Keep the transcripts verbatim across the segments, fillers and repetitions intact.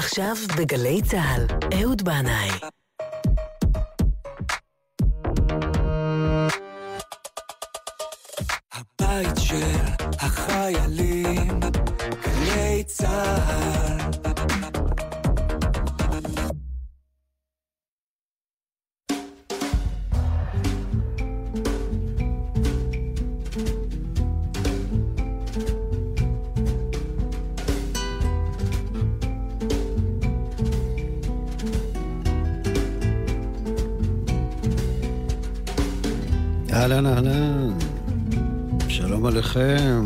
עכשיו בגלי צהל, אהוד בנאי. הבית של החיילים, גלי צהל. אהלן אהלן, שלום עליכם,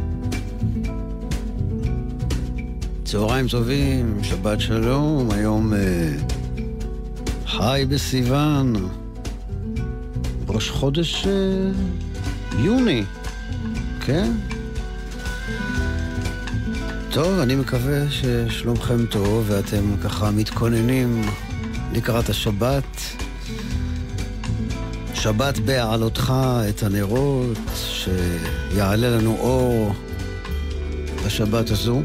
צהריים טובים, שבת שלום. היום אה, חי בסיוון, ראש חודש אה, יוני, כן? טוב, אני מקווה ששלומכם טוב ואתם ככה מתכוננים לקראת השבת. שבת בעלותך את הנרות, שיעלה לנו אור בשבת הזו.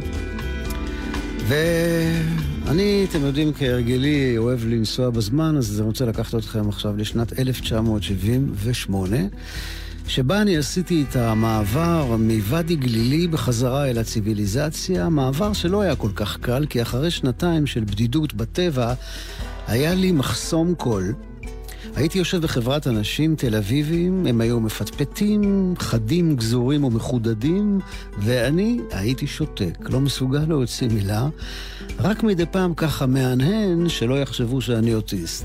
ואני, אתם יודעים, כהרגלי אוהב לנסוע בזמן, אז אני רוצה לקחת אתכם עכשיו לשנת אלף תשע מאות שבעים ושמונה, שבה אני עשיתי את המעבר מוואדי גלילי בחזרה אל הציביליזציה, מעבר שלא היה כל כך קל, כי אחרי שנתיים של בדידות בטבע, היה לי מחסום קול. הייתי יושב בחברת אנשים תל אביבים, הם היו מפטפטים, חדים, גזורים ומחודדים, ואני הייתי שותק, לא מסוגל להוציא מילה, רק מדי פעם ככה מהנהן שלא יחשבו שאני אוטיסט.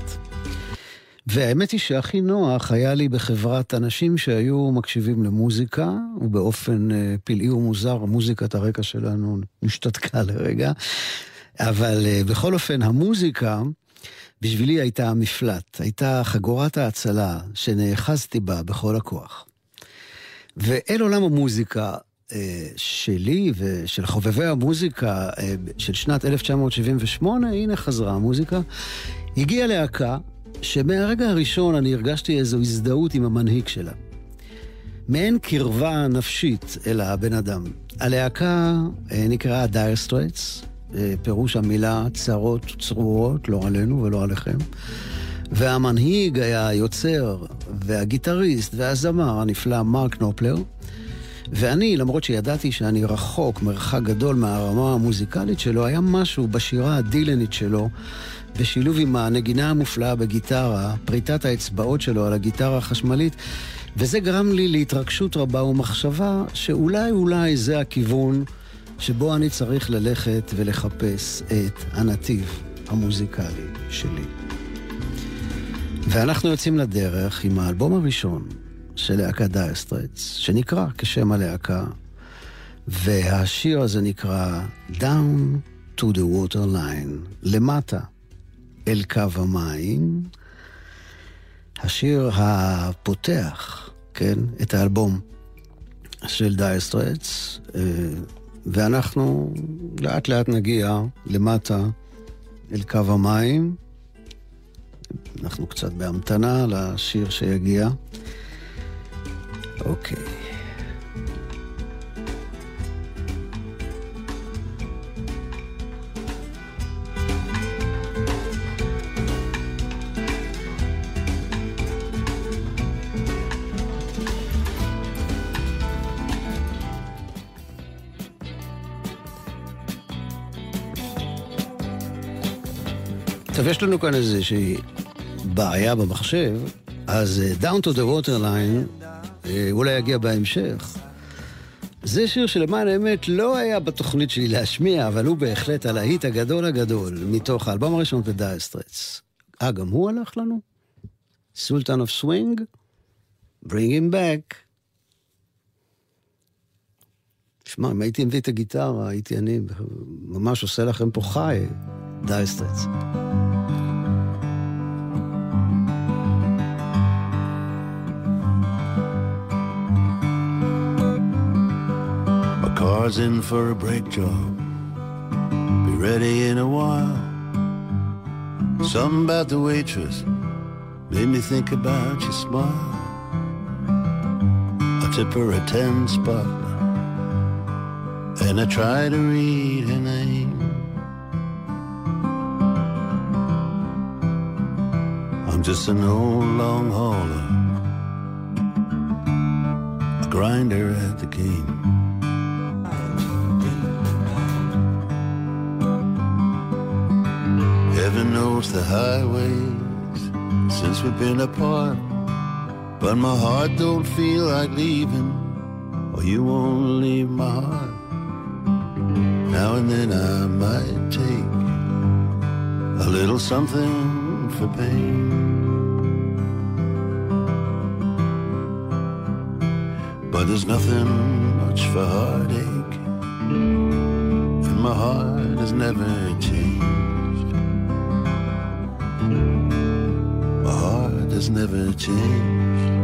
והאמת היא שהכי נוח היה לי בחברת אנשים שהיו מקשיבים למוזיקה, ובאופן uh, פלאי ומוזר, מוזיקת הרקע שלנו משתתקה לרגע, אבל uh, בכל אופן המוזיקה, בשבילי הייתה המפלט, הייתה חגורת ההצלה שנאחזתי בה בכל הכוח. ואל עולם המוזיקה אה, שלי ושל חובבי המוזיקה אה, של שנת אלף תשע מאות שבעים ושמונה, הנה חזרה המוזיקה, הגיעה להקה שמהרגע הראשון אני הרגשתי איזו הזדהות עם המנהיג שלה. מעין קרבה נפשית אל הבן אדם. הלהקה אה, נקראה Dire Straits, פירוש המילה צרות צרורות, לא עלינו ולא עליכם. והמנהיג היה היוצר והגיטריסט והזמר הנפלא מרק נופלר. ואני, למרות שידעתי שאני רחוק מרחק גדול מהרמה המוזיקלית שלו, היה משהו בשירה הדילנית שלו, בשילוב עם הנגינה המופלאה בגיטרה, פריטת האצבעות שלו על הגיטרה החשמלית, וזה גרם לי להתרגשות רבה ומחשבה שאולי אולי זה הכיוון שבו אני צריך ללכת ולחפש את הנתיב המוזיקלי שלי. ואנחנו יוצאים לדרך עם האלבום הראשון של להקה Dire Straits, שנקרא כשם הלהקה, והשיר הזה נקרא Down to the Water Line, למטה אל קו המים, השיר הפותח, כן, את האלבום של Dire Straits, ואנחנו לאט לאט נגיע למטה אל קו המים. אנחנו קצת בהמתנה לשיר שיגיע. אוקיי. טוב, יש לנו כאן איזושהי בעיה במחשב, אז Down to the Water Line אולי יגיע בהמשך. זה שיר שלמען האמת לא היה בתוכנית שלי להשמיע, אבל הוא בהחלט הלהיט הגדול הגדול מתוך האלבום הראשון ב-Dire Straits. אה, גם הוא הלך לנו? Sultan of Swing? Bring him back. שמע, אם הייתי מביא את הגיטרה, הייתי אני ממש עושה לכם פה חי, Dire Straits. Car's in for a brake job, be ready in a while. Something about the waitress made me think about your smile. I tip her a ten spot, and I try to read her name. just an old long hauler, a grinder at the game. Heaven knows the highways since we've been apart, but my heart don't feel like leaving, or you won't leave my heart. Now and then I might take a little something for pain, but there's nothing much for heartache, and my heart has never changed. My heart has never changed.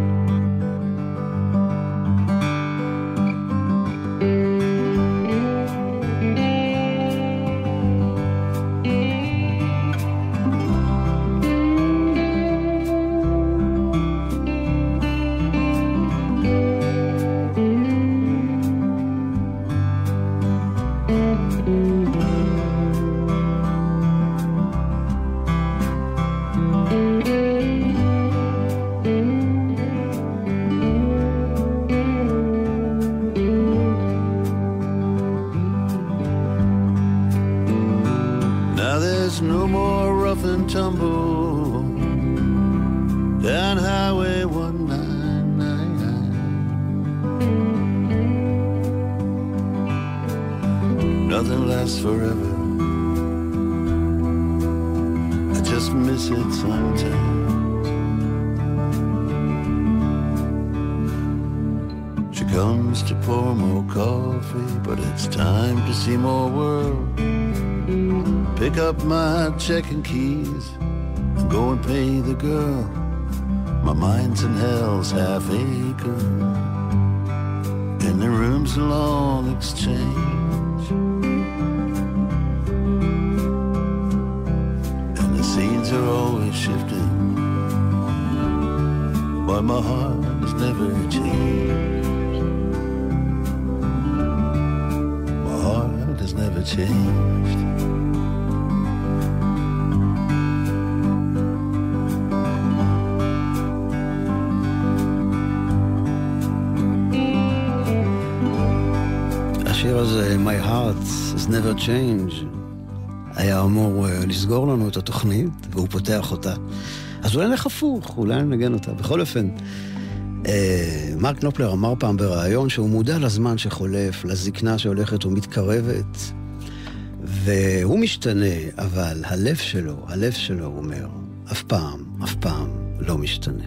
Forever, I just miss it sometimes. She comes to pour more coffee, but it's time to see more world. Pick up my checking keys and go and pay the girl. My mind's in hell's half acre, and the room's a long exchange. Are always shifting, but my heart has never changed. My heart has never changed. השיר הזה, My Heart has never changed, היה אמור לסגור לנו את התוכנית, והוא פותח אותה. אז אולי נלך הפוך, אולי נגן אותה. בכל אופן, מרק נופלר אמר פעם ברעיון שהוא מודע לזמן שחולף, לזקנה שהולכת ומתקרבת, והוא משתנה, אבל הלב שלו, הלב שלו, הוא אומר, אף פעם, אף פעם לא משתנה.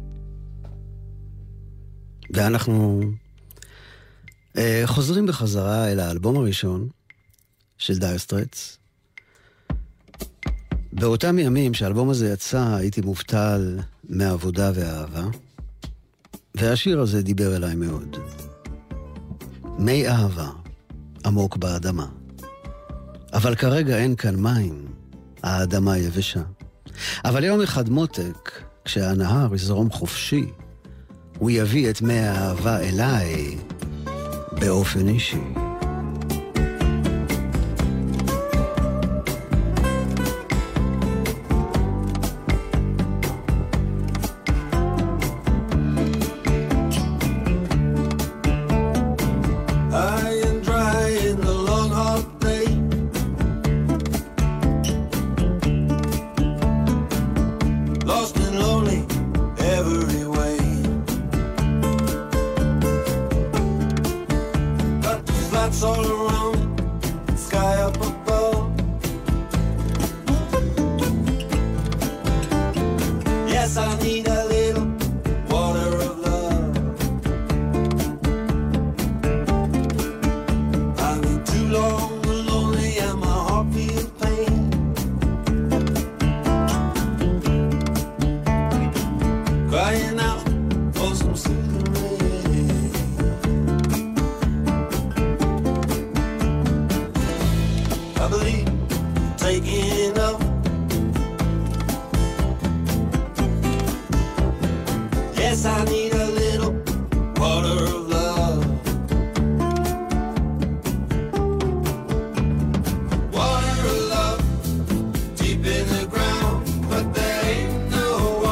ואנחנו חוזרים בחזרה אל האלבום הראשון של דייר סטרייטס. באותם ימים שהאלבום הזה יצא, הייתי מובטל מעבודה ואהבה, והשיר הזה דיבר אליי מאוד. מי אהבה, עמוק באדמה. אבל כרגע אין כאן מים, האדמה יבשה. אבל יום אחד מותק, כשהנהר יזרום חופשי, הוא יביא את מי האהבה אליי באופן אישי. Water of love deep in the ground, but there ain't no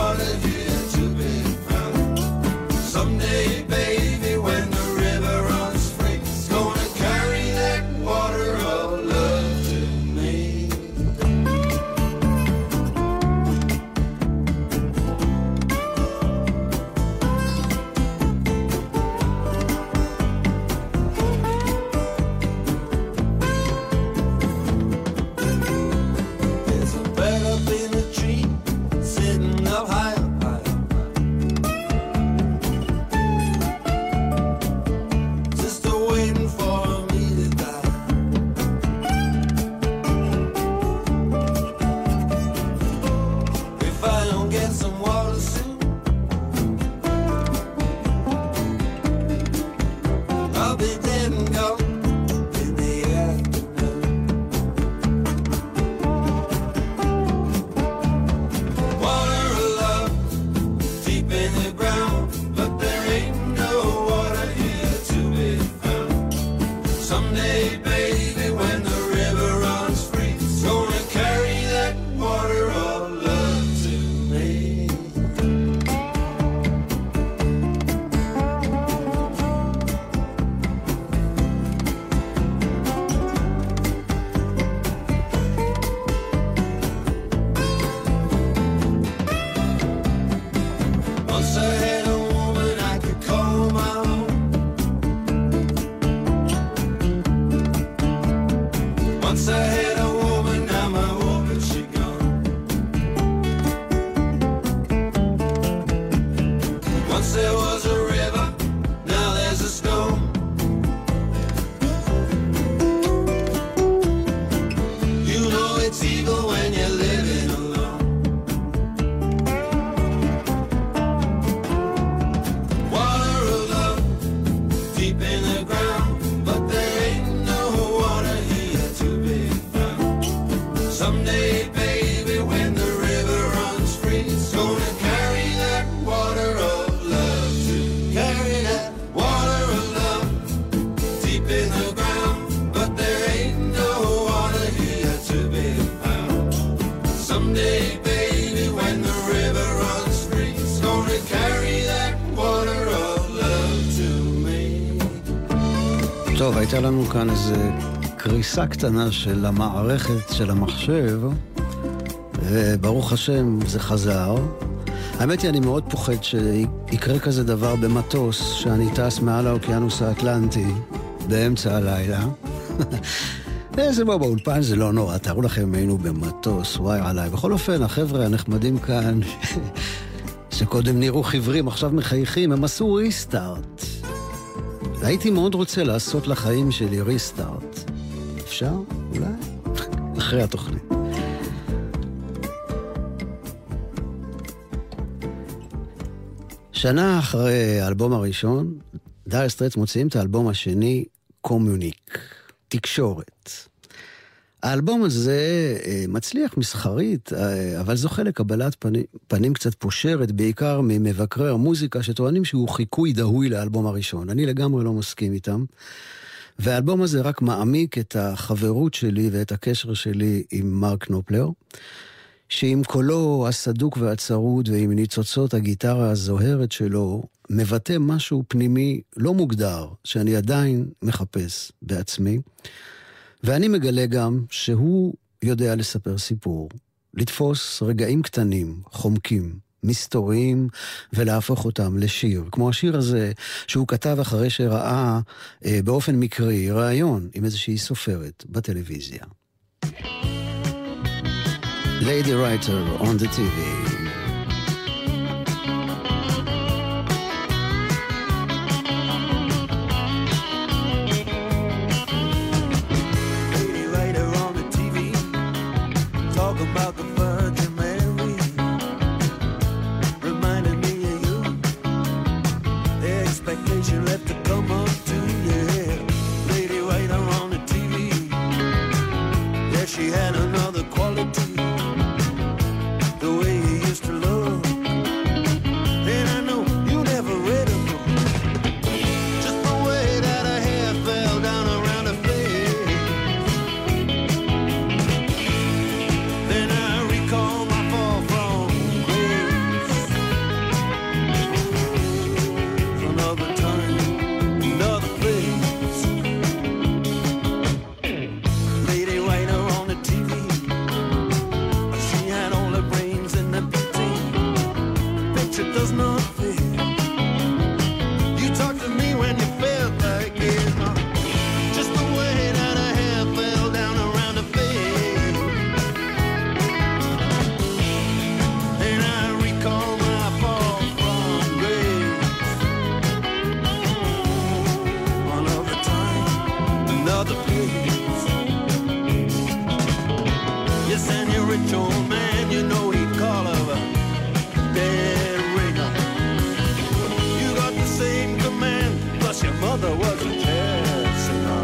it's evil when you're living alone. Water of love, deep in the ground, but there ain't no water here to be found. Someday, baby, when the river runs free, it's gonna carry that water of love to carry that water of love deep in the ground, but there ain't no water here to be found. Someday, baby, when the river runs free, it's gonna carry that water of love to me. טוב, הייתה לנו כאן איזה קריסה קטנה של המערכת של המחשב, וברוך השם זה חזר. האמת היא, אני מאוד פוחד שיקרה כזה דבר במטוס, שאני טס מעל האוקיינוס האטלנטי באמצע הלילה. זה בוא באולפן, זה לא נורא, תארו לכם היינו במטוס, וואי עליי. בכל אופן, החבר'ה הנחמדים כאן, שקודם נראו חברים, עכשיו מחייכים, הם עשו ריסטארט. הייתי מאוד רוצה לעשות לחיים שלי ריסטארט. אפשר? אולי? אחרי התוכנית. שנה אחרי האלבום הראשון, דייר סטרייטס מוציאים את האלבום השני, קומיוניק, תקשורת. האלבום הזה מצליח מסחרית, אבל זוכה לקבלת פנים, פנים קצת פושרת, בעיקר ממבקרי המוזיקה שטוענים שהוא חיקוי דהוי לאלבום הראשון. אני לגמרי לא מסכים איתם. והאלבום הזה רק מעמיק את החברות שלי ואת הקשר שלי עם מרק נופלר, שעם קולו הסדוק והצרוד ועם ניצוצות הגיטרה הזוהרת שלו, מבטא משהו פנימי לא מוגדר, שאני עדיין מחפש בעצמי, ואני מגלה גם שהוא יודע לספר סיפור, לתפוס רגעים קטנים, חומקים, מסתוריים, ולהפוך אותם לשיר. כמו השיר הזה שהוא כתב אחרי שראה אה, באופן מקרי רעיון עם איזושהי סופרת בטלוויזיה. Lady Writer on the טי וי. About the Virgin Mary, reminded me of you. The expectation left to come up to, yeah. Lady writer on the T V, yeah, she had another quality, the way you used to look. And I know you never read a book, just the way that her hair fell down around her face. Does not fit. You talked to me when you felt like it, huh? Just the way that her hair fell down around her face. And I recall my fall from grace. Another time, another place. Yes, and your rich old man, you know he'd call her a dead. Same command, plus your mother was a jazz singer.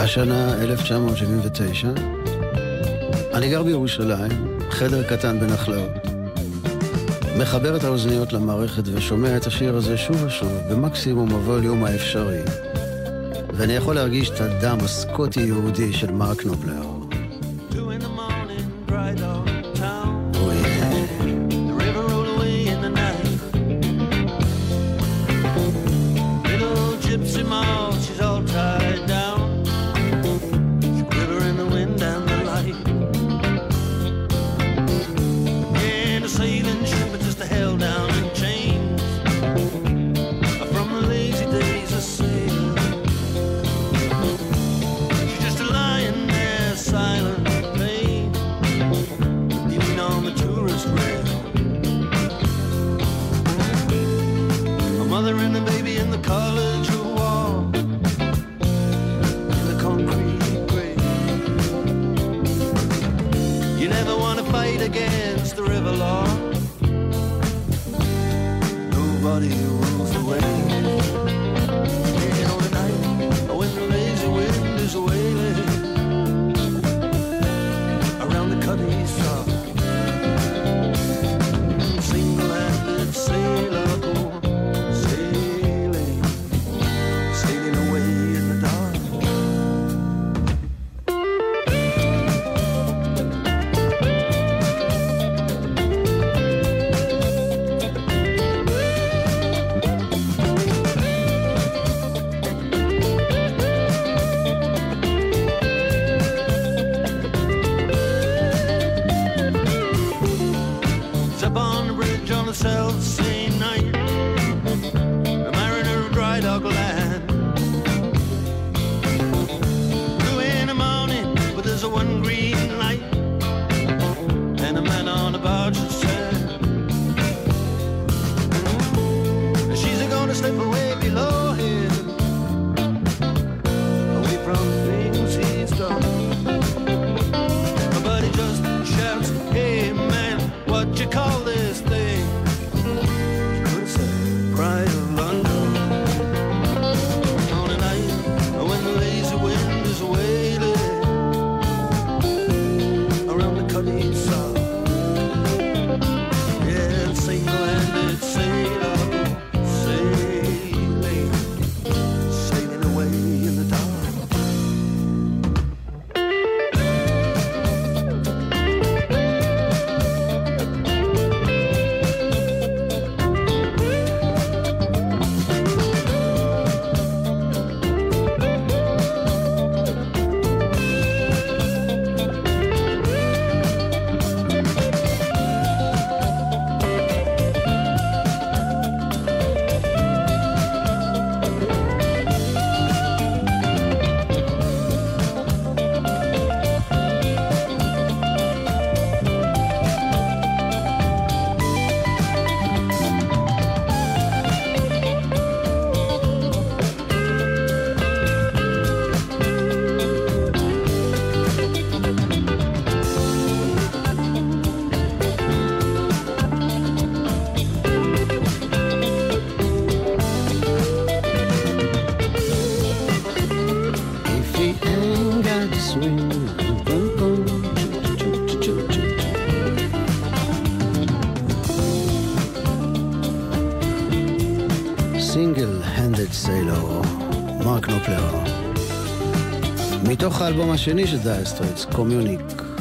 השנה אלף תשע מאות שבעים ותשע. אני גר בירושלים, חדר קטן בנחלאות. מחבר את האוזניות למערכת ושומע את השיר הזה שוב ושוב, במקסימום הווליום האפשרי. ואני יכול להרגיש את הדם הסקוטי-יהודי של מרק נופלר. מתוך האלבום השני של דייר סטרייטס, קומיוניק.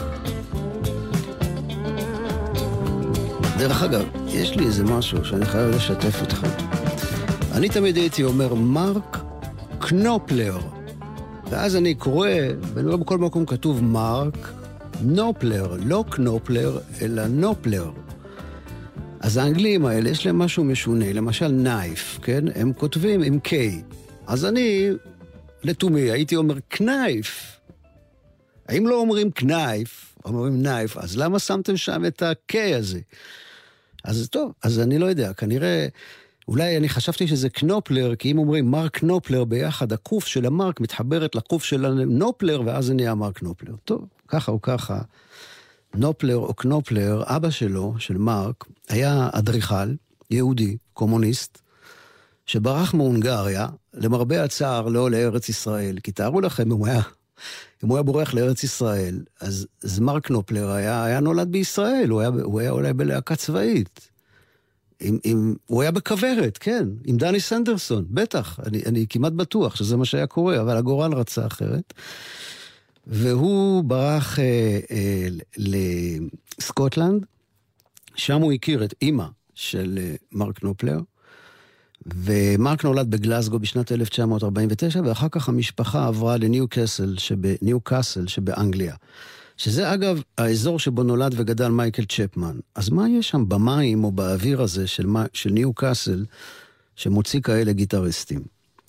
דרך אגב, יש לי איזה משהו שאני חייב לשתף איתך. אני תמיד הייתי אומר מרק קנופלר, ואז אני קורא, ואני רואה בכל מקום כתוב מרק נופלר, לא קנופלר, אלא נופלר. אז האנגלים האלה יש להם משהו משונה, למשל נייף, כן? הם כותבים עם K. אז אני... לתומי, הייתי אומר קנייף. האם לא אומרים קנייף, אומרים נייף, אז למה שמתם שם את ה-K הזה? אז טוב, אז אני לא יודע, כנראה, אולי אני חשבתי שזה קנופלר, כי אם אומרים מרק קנופלר ביחד, הקוף של המרק מתחברת לקוף של הנופלר, ואז זה נהיה מרק נופלר. טוב, ככה או ככה, נופלר או קנופלר, אבא שלו, של מרק, היה אדריכל, יהודי, קומוניסט, שברח מהונגריה, למרבה הצער לא לארץ ישראל, כי תארו לכם, אם הוא היה, אם הוא היה בורח לארץ ישראל, אז, אז מרק נופלר היה, היה נולד בישראל, הוא היה, הוא היה אולי בלהקה צבאית. עם, עם, הוא היה בכוורת, כן, עם דני סנדרסון, בטח, אני, אני כמעט בטוח שזה מה שהיה קורה, אבל הגורל רצה אחרת. והוא ברח אה, אה, לסקוטלנד, שם הוא הכיר את אימא של אה, מרק נופלר, ומרק נולד בגלסגו בשנת אלף תשע מאות ארבעים ותשע, ואחר כך המשפחה עברה לניו קאסל, שבניו קאסל שבאנגליה. שזה אגב האזור שבו נולד וגדל מייקל צ'פמן. אז מה יש שם במים או באוויר הזה של, של ניו קאסל שמוציא כאלה גיטריסטים?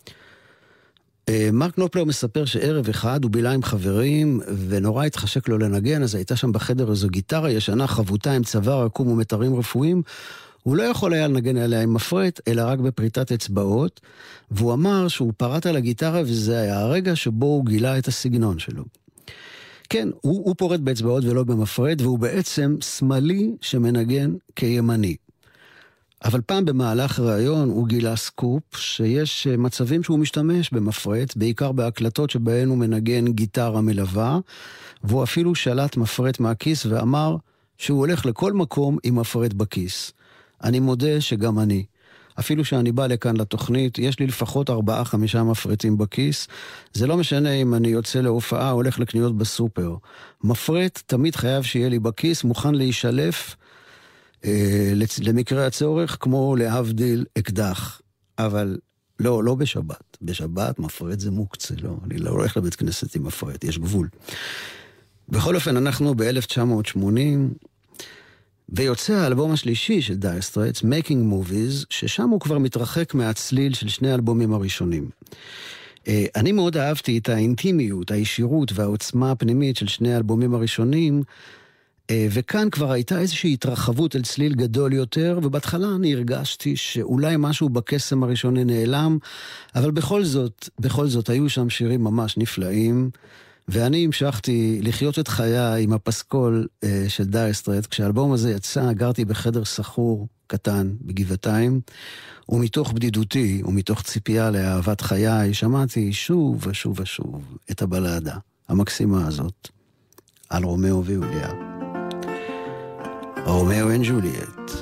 מרק נופלר מספר שערב אחד הוא בילה עם חברים ונורא התחשק לו לנגן, אז הייתה שם בחדר איזו גיטרה ישנה חבוטה עם צוואר עקום ומתרים רפואיים. הוא לא יכול היה לנגן עליה עם מפרט, אלא רק בפריטת אצבעות, והוא אמר שהוא פרט על הגיטרה וזה היה הרגע שבו הוא גילה את הסגנון שלו. כן, הוא, הוא פורט באצבעות ולא במפרד, והוא בעצם שמאלי שמנגן כימני. אבל פעם במהלך ראיון הוא גילה סקופ שיש מצבים שהוא משתמש במפרד, בעיקר בהקלטות שבהן הוא מנגן גיטרה מלווה, והוא אפילו שלט מפרד מהכיס ואמר שהוא הולך לכל מקום עם מפרד בכיס. אני מודה שגם אני. אפילו שאני בא לכאן לתוכנית, יש לי לפחות ארבעה, חמישה מפרטים בכיס. זה לא משנה אם אני יוצא להופעה, הולך לקניות בסופר. מפרט תמיד חייב שיהיה לי בכיס, מוכן להישלף אה, למקרה הצורך, כמו להבדיל אקדח. אבל לא, לא בשבת. בשבת מפרט זה מוקצה, לא. אני לא הולך לבית כנסת עם מפרט, יש גבול. בכל אופן, אנחנו ב-אלף תשע מאות שמונים... ויוצא האלבום השלישי של Dire Straits, Making Movies, ששם הוא כבר מתרחק מהצליל של שני האלבומים הראשונים. אני מאוד אהבתי את האינטימיות, הישירות והעוצמה הפנימית של שני האלבומים הראשונים, וכאן כבר הייתה איזושהי התרחבות אל צליל גדול יותר, ובהתחלה אני הרגשתי שאולי משהו בקסם הראשוני נעלם, אבל בכל זאת, בכל זאת היו שם שירים ממש נפלאים, ואני המשכתי לחיות את חיי עם הפסקול אה, של דייר סטרייטס. כשהאלבום הזה יצא, גרתי בחדר סחור קטן בגבעתיים, ומתוך בדידותי ומתוך ציפייה לאהבת חיי, שמעתי שוב ושוב ושוב את הבלדה המקסימה הזאת על רומאו ויוליה. רומאו and Juliet.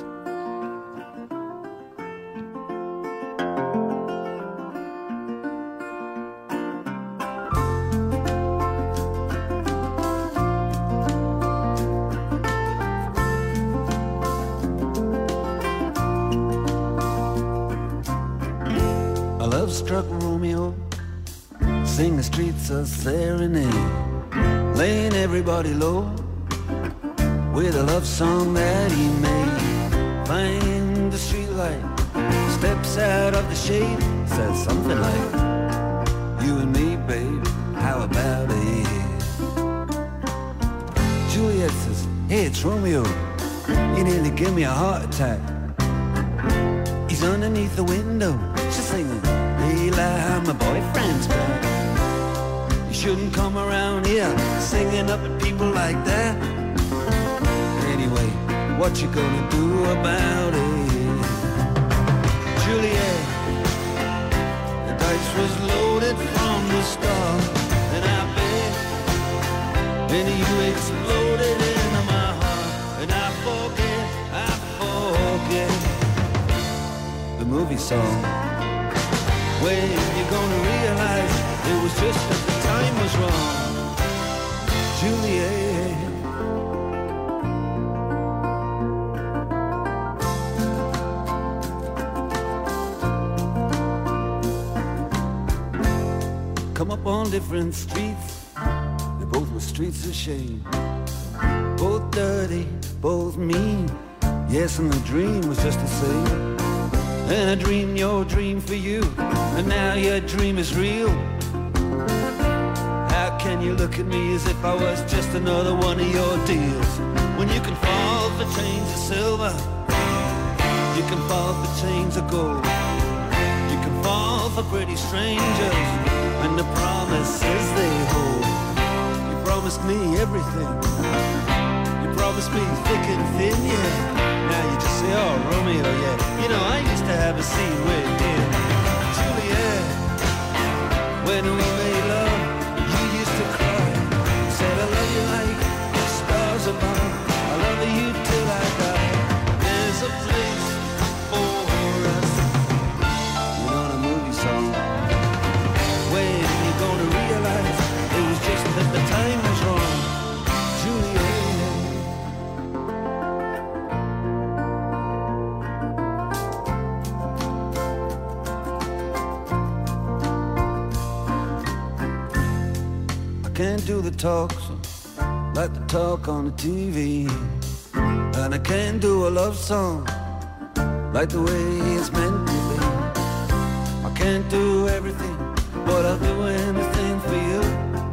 Struck Romeo, sing the streets a serenade, laying everybody low with a love song that he made. Find the streetlight, steps out of the shade, says something like, you and me, babe, how about it? Juliet says, hey, it's Romeo, you nearly gave me a heart attack. He's underneath the window, she's singing, Eli, my boyfriend's back. You shouldn't come around here singing up at people like that. Anyway, what you gonna do about it? Juliet, the dice was loaded from the start, and I bet and you exploded into my heart, and I forget, I forget the movie song. When you're gonna realize it was just that the time was wrong, Juliet. Come up on different streets, they both were streets of shame, both dirty, both mean. Yes, and the dream was just the same. And I dreamed your dream for you, and now your dream is real. How can you look at me as if I was just another one of your deals? When you can fall for chains of silver, you can fall for chains of gold, you can fall for pretty strangers and the promises they hold. You promised me everything, you promised me thick and thin, yeah. Now you just say, oh, Romeo, yeah. You know, I used to have a scene with him. can't do the talk so like the talk on the T V. And I can't do a love song like the way it's meant to be. I can't do everything, but I'll do anything for you.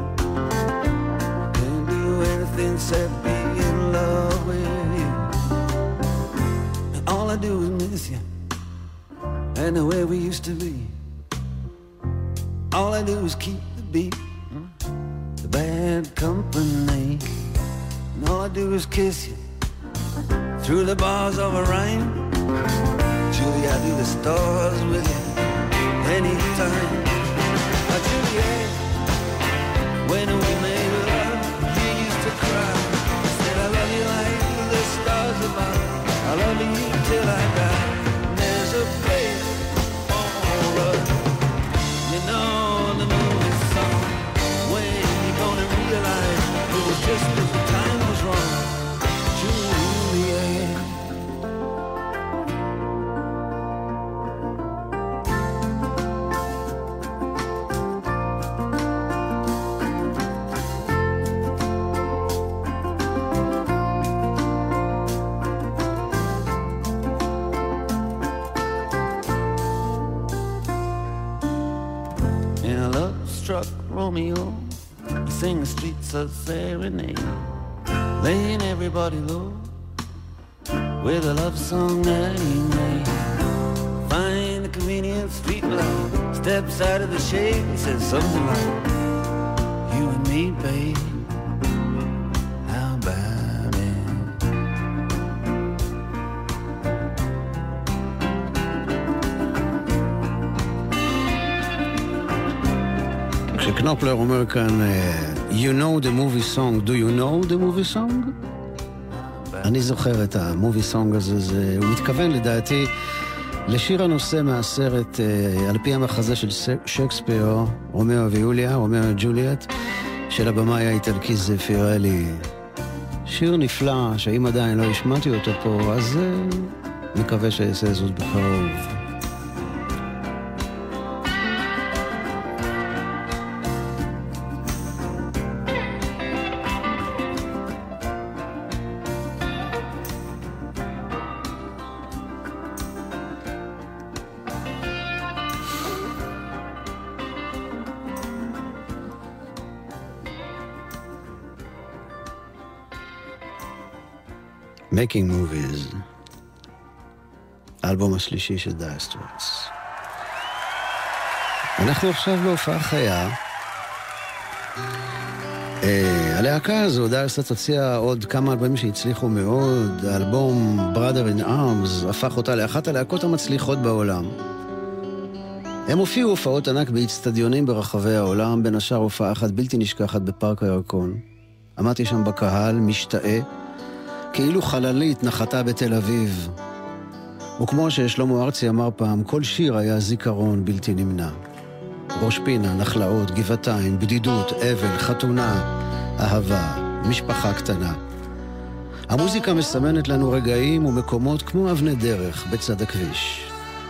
Can't do anything except be in love with you. And all I do is miss you and the way we used to be. All I do is keep the beat, the bad company. And all I do is kiss you through the bars of a rhyme. Julie, I do the stars with you anytime. Oh, Juliet, when we made love, you used to cry. I said I love you like the stars above. I love you till I die. There's a place for us, you know the movie song. When you gonna realize it was just as the time was wrong, Juliet. Romeo, he sing the streets of serenade, laying everybody low with a love song that he made. Find the convenient street light, steps out of the shade and says something like, you and me, babe, how about it? כשקנופלר אומר כאן, you know the movie song, do you know the movie song? אני זוכר את המובי סונג הזה, זה, הוא מתכוון לדעתי לשיר הנושא מהסרט על פי המחזה של שייקספיר, רומאו ויוליה, רומאו וג'וליאט, של הבמאי האיטלקי זפירלי. שיר נפלא, שאם עדיין לא השמעתי אותו פה, אז מקווה שיעשה זאת בקרוב. Making Movies, האלבום השלישי של דייר סטרייטס. אנחנו עכשיו בהופעה חיה. הלהקה הזו, דייר סטרייטס, הוציאה עוד כמה אלבומים שהצליחו מאוד. האלבום Brother in Arms הפך אותה לאחת הלהקות המצליחות בעולם. הם הופיעו הופעות ענק באצטדיונים ברחבי העולם, בין השאר הופעה אחת בלתי נשכחת בפארק הירקון. עמדתי שם בקהל, משתאה, כאילו חללית נחתה בתל אביב. וכמו ששלמה ארצי אמר פעם, כל שיר היה זיכרון בלתי נמנע. ראש פינה, נחלאות, גבעתיים, בדידות, אבל, חתונה, אהבה, משפחה קטנה. המוזיקה מסמנת לנו רגעים ומקומות כמו אבני דרך בצד הכביש.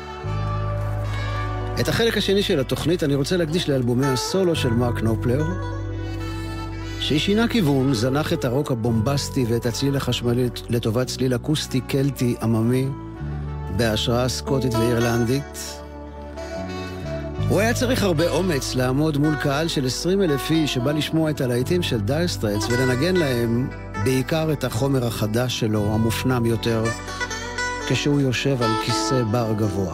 את החלק השני של התוכנית אני רוצה להקדיש לאלבומי הסולו של מרק נופלר, ששינה כיוון, זנח את הרוק הבומבסטי ואת הצליל החשמלי לטובת צליל אקוסטי קלטי עממי, בהשראה סקוטית ואירלנדית. הוא היה צריך הרבה אומץ לעמוד מול קהל של עשרים אלף איש שבא לשמוע את הלהיטים של דייר סטרייטס ולנגן להם בעיקר את החומר החדש שלו, המופנם יותר, כשהוא יושב על כיסא בר גבוה.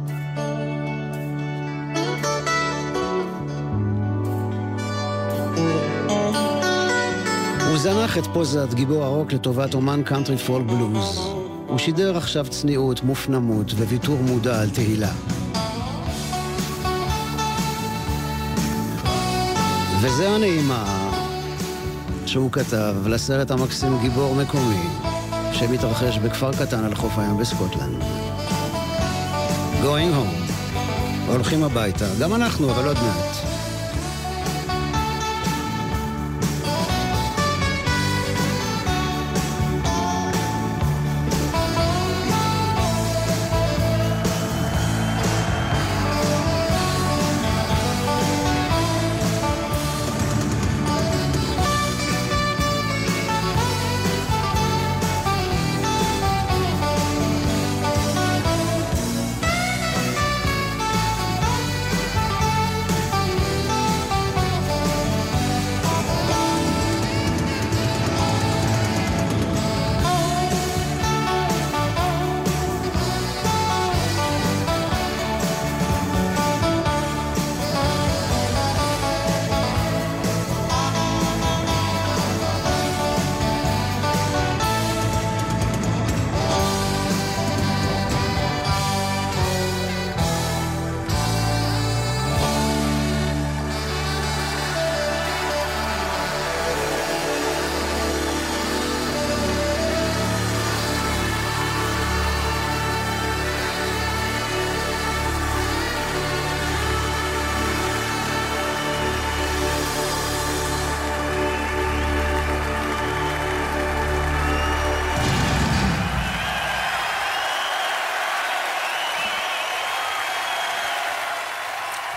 הוא זנח את פוזת גיבור הרוק לטובת אומן קאנטרי פולק בלוז. הוא שידר עכשיו צניעות, מופנמות וויתור מודע על תהילה. וזה הנעימה שהוא כתב לסרט המקסים גיבור מקומי, שמתרחש בכפר קטן על חוף הים בסקוטלנד. Going home. הולכים הביתה. גם אנחנו, אבל עוד מעט.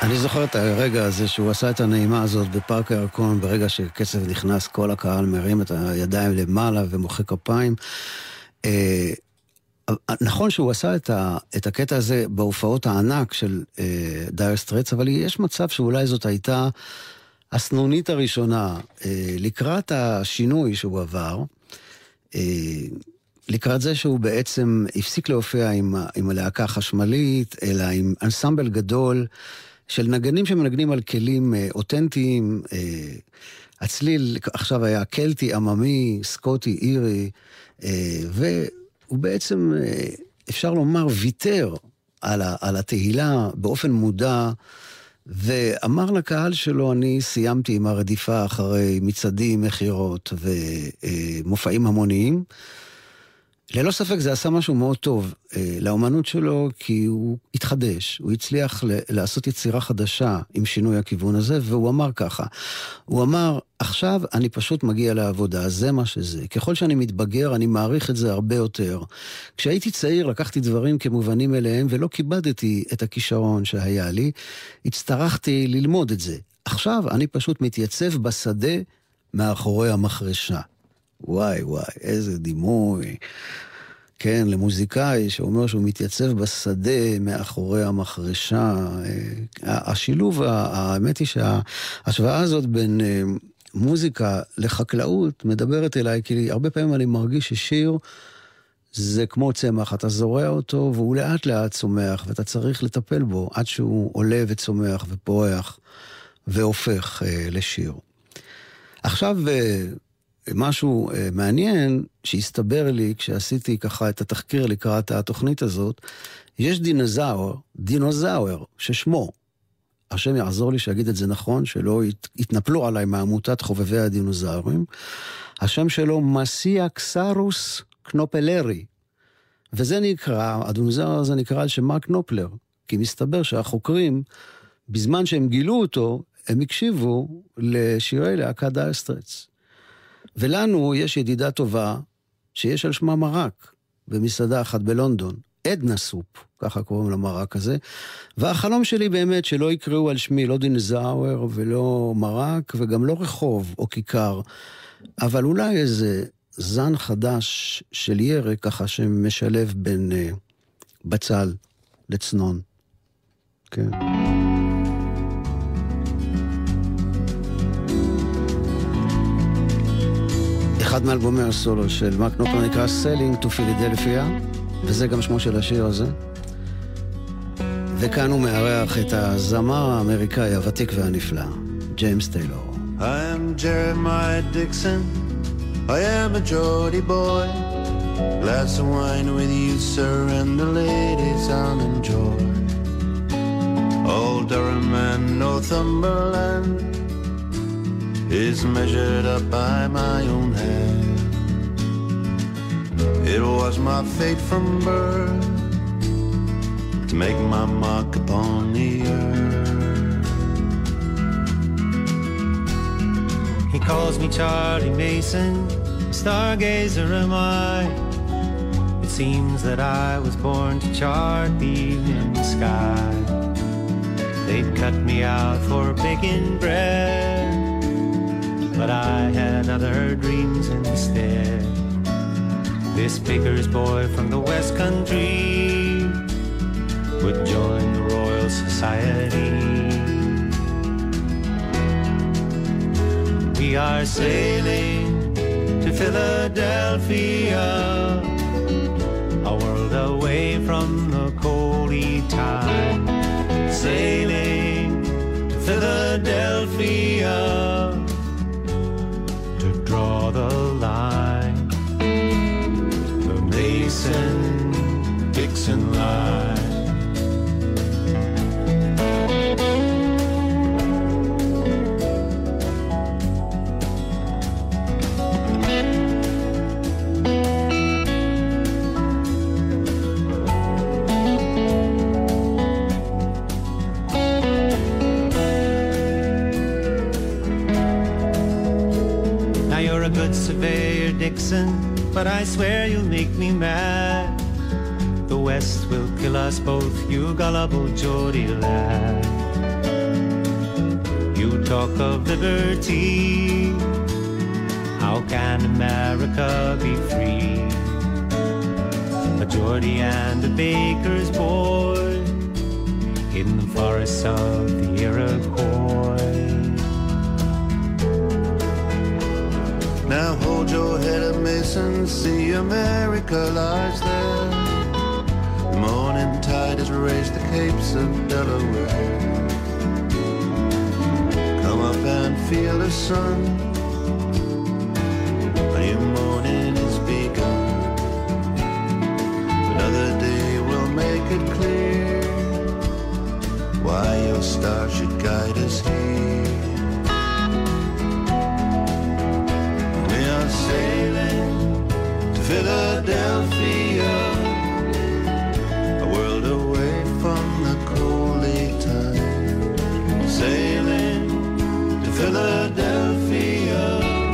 אני זוכר את הרגע הזה שהוא עשה את הנעימה הזאת בפארק הירקון, ברגע שקצב נכנס, כל הקהל מרים את הידיים למעלה ומוחא כפיים. אה, נכון שהוא עשה את, ה, את הקטע הזה בהופעות הענק של אה, דייר סטרייטס, אבל יש מצב שאולי זאת הייתה הסנונית הראשונה אה, לקראת השינוי שהוא עבר, אה, לקראת זה שהוא בעצם הפסיק להופיע עם, עם הלהקה החשמלית, אלא עם אנסמבל גדול של נגנים שמנגנים על כלים אה, אותנטיים, אה, הצליל עכשיו היה קלטי, עממי, סקוטי, אירי, אה, והוא בעצם, אה, אפשר לומר, ויתר על, ה, על התהילה באופן מודע, ואמר לקהל שלו, אני סיימתי עם הרדיפה אחרי מצעדים, מחירות ומופעים המוניים. ללא ספק זה עשה משהו מאוד טוב אה, לאומנות שלו, כי הוא התחדש, הוא הצליח ל- לעשות יצירה חדשה עם שינוי הכיוון הזה, והוא אמר ככה, הוא אמר, עכשיו אני פשוט מגיע לעבודה, זה מה שזה. ככל שאני מתבגר, אני מעריך את זה הרבה יותר. כשהייתי צעיר, לקחתי דברים כמובנים אליהם, ולא כיבדתי את הכישרון שהיה לי, הצטרכתי ללמוד את זה. עכשיו אני פשוט מתייצב בשדה מאחורי המחרשה. וואי וואי, איזה דימוי. כן, למוזיקאי שאומר שהוא מתייצב בשדה מאחורי המחרשה. השילוב, האמת היא שההשוואה הזאת בין מוזיקה לחקלאות מדברת אליי, כי הרבה פעמים אני מרגיש ששיר זה כמו צמח, אתה זורע אותו והוא לאט לאט צומח, ואתה צריך לטפל בו עד שהוא עולה וצומח ופורח והופך לשיר. עכשיו משהו מעניין שהסתבר לי כשעשיתי ככה את התחקיר לקראת התוכנית הזאת, יש דינוזאור, דינוזאור ששמו, השם יעזור לי שיגיד את זה נכון, שלא יתנפלו עליי מעמותת חובבי הדינוזאורים, השם שלו מסיאקסרוס קנופלרי, וזה נקרא, הדינוזאור הזה נקרא על שם מרק נופלר, כי מסתבר שהחוקרים, בזמן שהם גילו אותו, הם הקשיבו לשירי להקת דייר סטרייטס. ולנו יש ידידה טובה שיש על שמה מרק במסעדה אחת בלונדון, עדנה סופ, ככה קוראים למרק הזה, והחלום שלי באמת שלא יקראו על שמי לא דינוזאור ולא מרק וגם לא רחוב או כיכר, אבל אולי איזה זן חדש של ירק ככה שמשלב בין uh, בצל לצנון. כן. אחד מאלבומי הסולו של מרק נופלר נקרא Sailing to Philadelphia, וזה גם שמו של השיר הזה. וכאן הוא מארח את הזמר האמריקאי הוותיק והנפלא, ג'יימס טיילור. I am Jeremiah Dixon, I am a Geordie boy, glass of wine with you sir and the ladies I'll enjoy. Old Durham and Northumberland is measured up by my own hand. It was my fate from birth to make my mark upon the earth. He calls me Charlie Mason, stargazer am I. It seems that I was born to chart the evening sky. They'd cut me out for baking bread, but I had other dreams instead. This baker's boy from the West Country would join the Royal Society. We are sailing to Philadelphia, a world away from the coldy tide. Sailing to Philadelphia, draw the line, the Mason-Dixon line. Surveyor Dixon, but I swear you'll make me mad. The West will kill us both, you gullible Geordie lad. talk of liberty. How can America be free? A Geordie and a baker's boy in the forests of the Iroquois. Now hold your head up, Mason, see America lies there. The morning tide has raised the capes of Delaware. Come up and feel the sun. A new morning is begun. Another day will make it clear why your star should guide us here. We are sailing to Philadelphia, a world away from the coaly time. Sailing to Philadelphia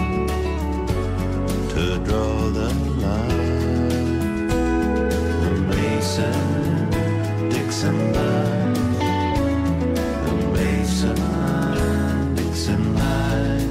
to draw the line. The Mason-Dixon line. The Mason-Dixon line.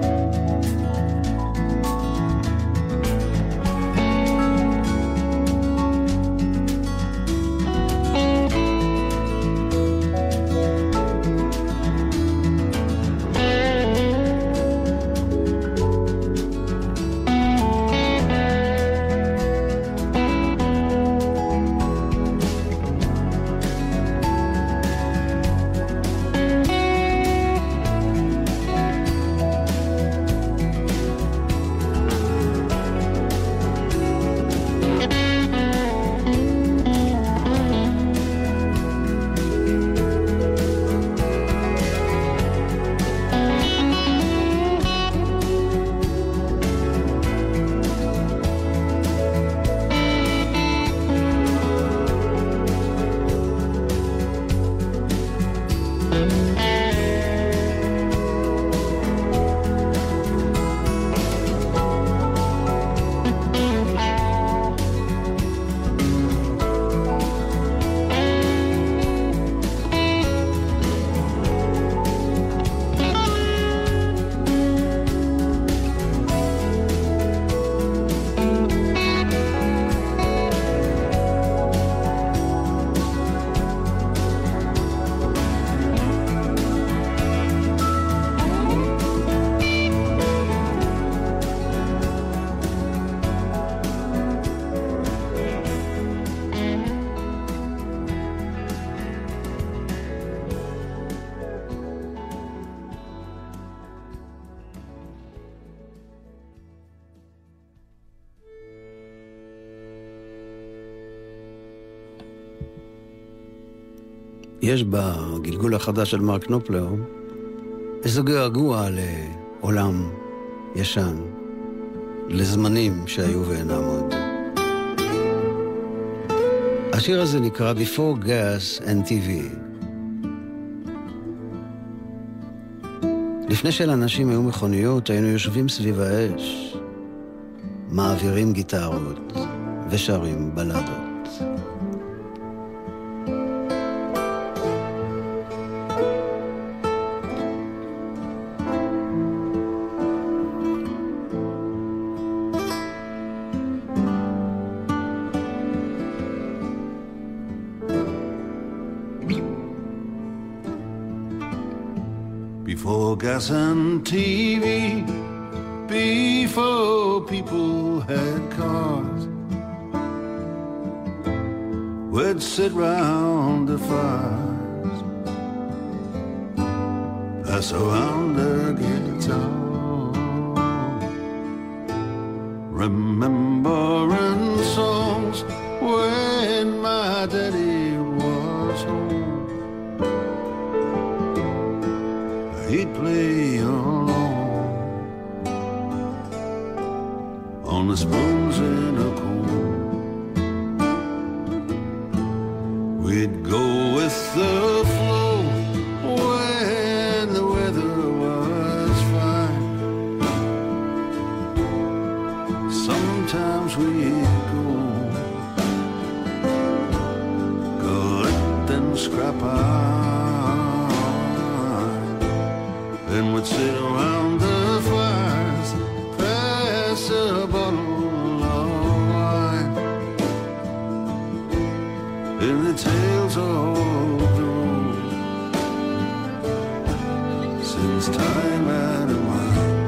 יש בגלגול החדש של מרק נופלר איזו געגוע לעולם ישן, לזמנים שהיו ואינם עוד. השיר הזה נקרא Before Gas and טי וי. לפני שלאנשים היו מכוניות, היינו יושבים סביב האש, מעבירים גיטרות ושרים בלדות. Before gas and T V, before people had cars, we'd sit round the fires, pass around the guitar, remembering songs when my daddy was home. He'd play along on the spoons in a comb. We'd go with the flow when the weather was fine. Sometimes we'd go collect and scrap out. and would sit around the fires, pass a bottle of wine, in the tales of the road, since time out of mind.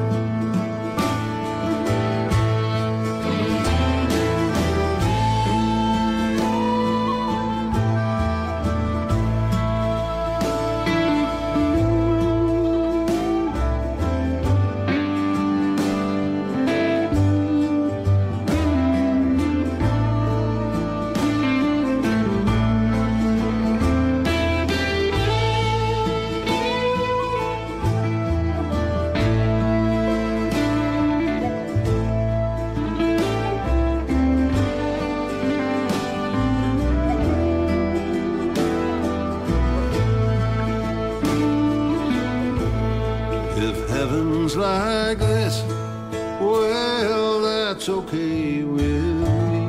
Like this, well, that's okay with me.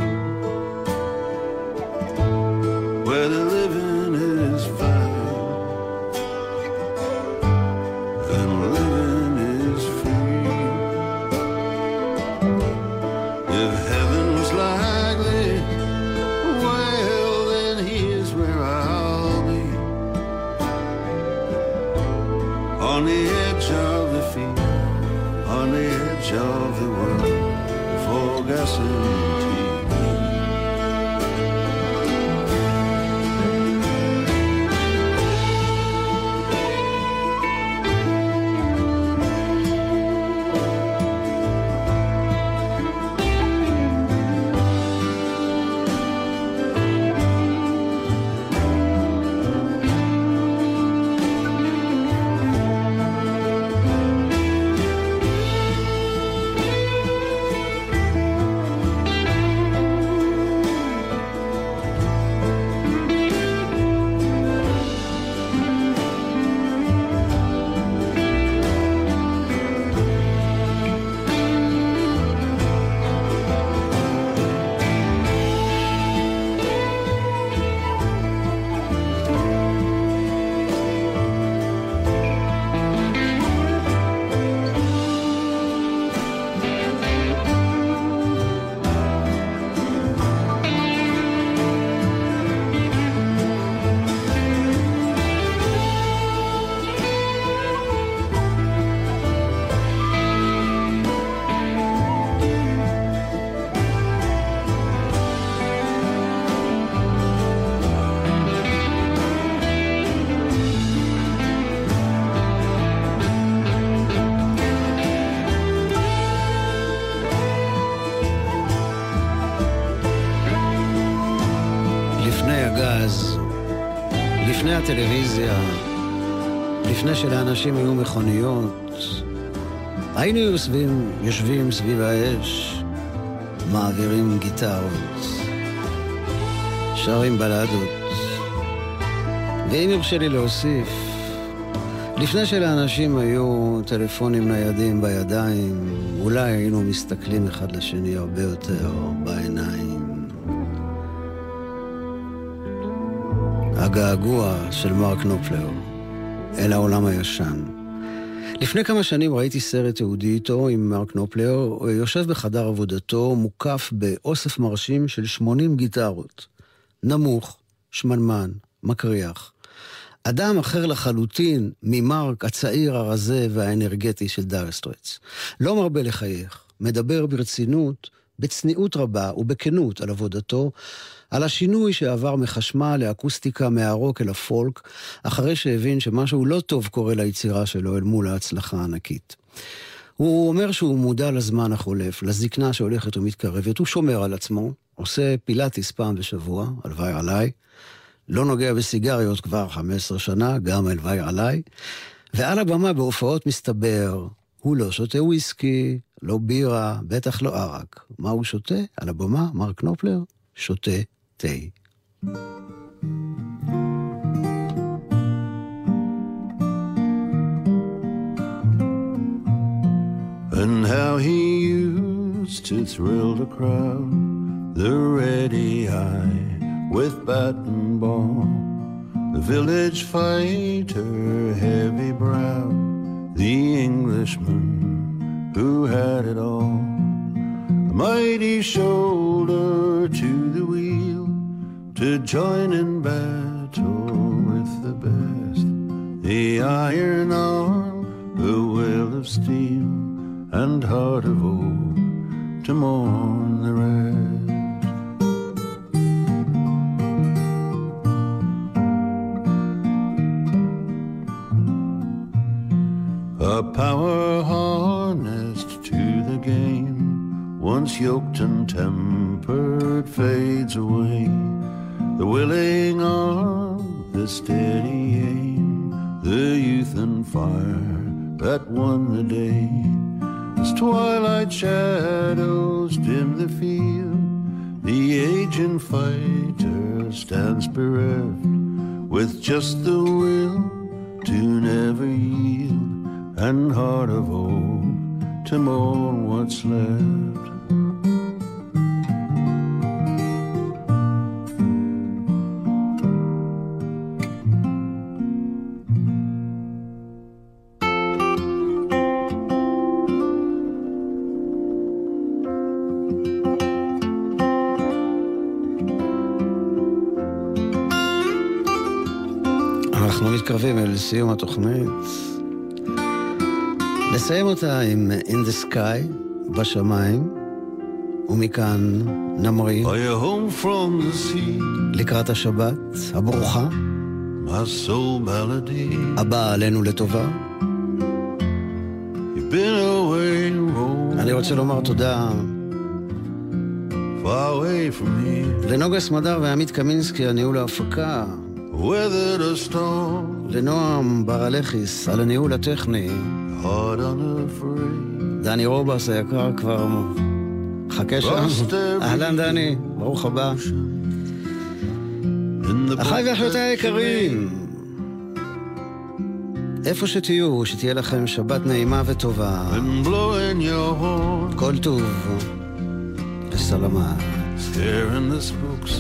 Where the living is fine and living is free. If heaven's like this, well, then here's where I'll be, on the edge of the field, on the edge of the world, for gasoline. לפני הטלוויזיה, לפני שלאנשים היו מכוניות, היינו יושבים, יושבים סביב האש, מעבירים גיטרות, שרים בלדות. ואם ירשה לי להוסיף, לפני שלאנשים היו טלפונים ניידים בידיים, אולי היינו מסתכלים אחד לשני הרבה יותר בעיניים. הגעגוע של מרק נופלר אל העולם הישן. לפני כמה שנים ראיתי סרט יהודי איתו עם מרק נופלר, יושב בחדר עבודתו, מוקף באוסף מרשים של שמונים גיטרות. נמוך, שמנמן, מקריח. אדם אחר לחלוטין ממרק הצעיר הרזה והאנרגטי של דייר סטרייטס. לא מרבה לחייך, מדבר ברצינות, בצניעות רבה ובכנות על עבודתו, על השינוי שעבר מחשמל לאקוסטיקה מהרוק אל הפולק, אחרי שהבין שמשהו לא טוב קורה ליצירה שלו אל מול ההצלחה הענקית. הוא אומר שהוא מודע לזמן החולף, לזקנה שהולכת ומתקרבת, הוא שומר על עצמו, עושה פילאטיס פעם בשבוע, הלוואי עליי, לא נוגע בסיגריות כבר חמש עשרה שנה, גם הלוואי עליי, ועל הבמה בהופעות מסתבר, הוא לא שותה וויסקי, לא בירה, בטח לא ערק. מה הוא שותה? על הבמה, מרק נופלר, שותה תה. And how he used to thrill the crowd, the ready eye with bat and ball, the village fighter, heavy brow, the Englishman who had it all. A mighty shoulder to the wheel to join in battle with the best. The iron arm, the will of steel, and heart of oak to mourn the rest. A power harnessed to the game, once yoked and tempered, fades away. The willing arm, the steady aim, the youth and fire that won the day. As twilight shadows dim the field, the aged fighter stands bereft, with just the will to never yield, and heart of oak to mourn what's left. אנחנו מתקרבים אל סיום התוכנית. נסיים אותה עם In the Sky, בשמיים, ומכאן נמריא Are you home from the sea? לקראת השבת הברוכה, My soul melody. הבאה עלינו לטובה. You've been away, roll אני רוצה לומר תודה far away from here. לנוגה סמדר ועמית קמינסקי, הניהול ההפקה, Weathered a storm, לנועם ברלכיס על הניהול הטכני, heart unafraid. דני רובס היקר כבר חכה שם. אהלן דני, ברוך הבא. אחיי ואחיותיי היקרים, איפה שתהיו, שתהיה לכם שבת נעימה וטובה. And blowing your horn, כל טוב וסלמה. scaring the spooks.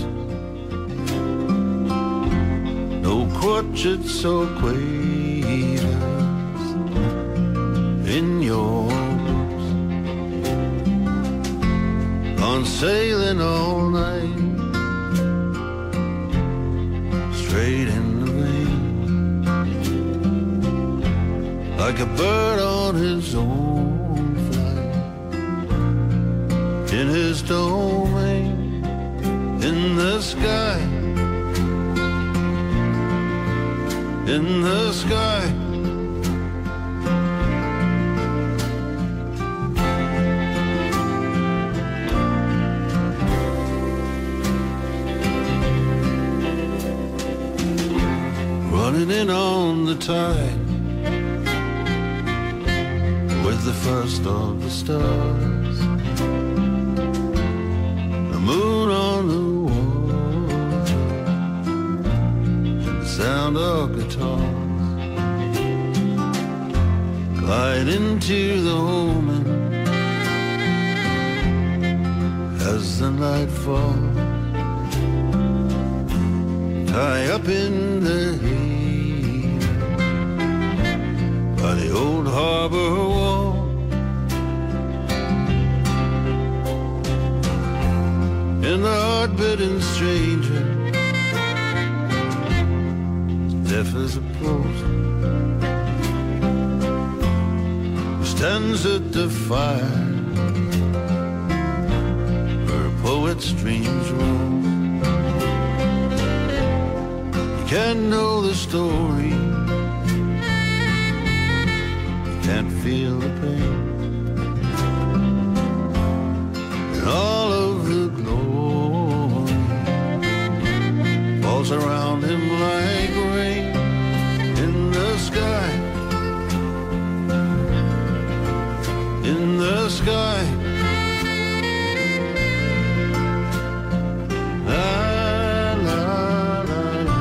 No crotchets or quavers in your boots. Gone sailing all night, straight in the rain, like a bird on his own flight, in his domain, in the sky, in the sky. Running in on the tide with the first of the stars, the moon on the water, the sound of guitars, glide into the omen as the night falls, tie up in the heat by the old harbor wall. And the heart-bitten stranger, deaf as a post, who stands at the fire where a poet's dreams roam. You can't know the story, you can't feel the pain, and all of the glory falls around him like rain in the sky, in the sky. La, la, la, la.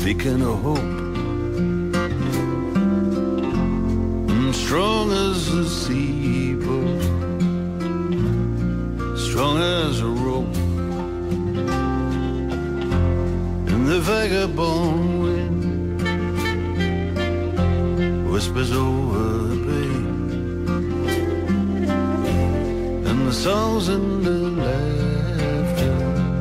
beacon of hope, and strong as the sea, but strong as a rope, and the vagabond wind whispers over the bay, and the songs in the laughter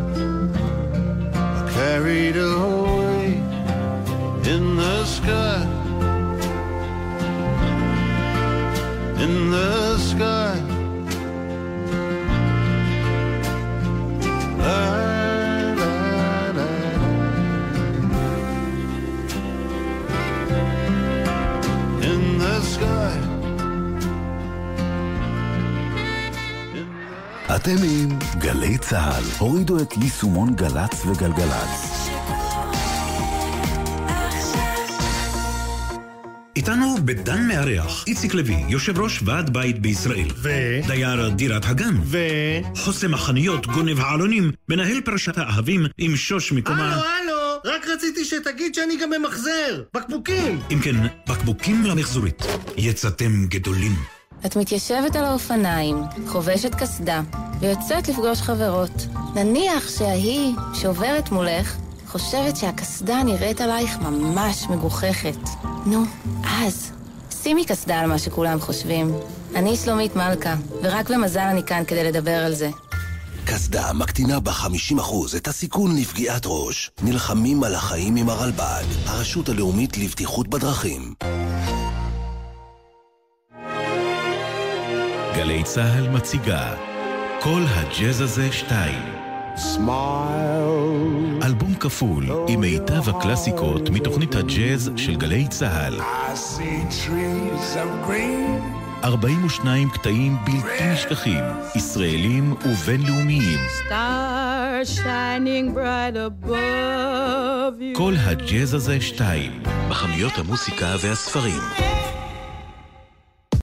are carried away in the sky, in the sky. La, la, la, in the sky. אתם עם גלי צהל. הורידו את יישומון גלץ וגלגלץ. איתנו בדן מארח, איציק לוי, יושב ראש ועד בית בישראל. ו... דייר דירת הגן. ו... חוסם החנויות, גונב העלונים, מנהל פרשת האהבים עם שוש מקומה. הלו, הלו, רק רציתי שתגיד שאני גם ממחזר. בקבוקים. אם כן, בקבוקים למחזורית. יצאתם גדולים. את מתיישבת על האופניים, חובשת קסדה, ויוצאת לפגוש חברות. נניח שהיא שעוברת מולך, חושבת שהקסדה נראית עלייך ממש מגוחכת. נו, אז, שימי קסדה על מה שכולם חושבים. אני שלומית מלכה, ורק במזל אני כאן כדי לדבר על זה. קסדה מקטינה ב-חמישים אחוז את הסיכון לפגיעת ראש. נלחמים על החיים עם הרלב"ד, הרשות הלאומית לבטיחות בדרכים. גלי צהל מציגה כל הג'אז הזה שתיים, Smile. אלבום כפול עם מיטב הקלאסיקות מתוכנית הג'אז של גלי צהל. ארבעים ושניים קטעים בלתי נשכחים, ישראלים ובינלאומיים. Star shining bright above you. כל הג'אז הזה שתיים, בחנויות המוסיקה והספרים.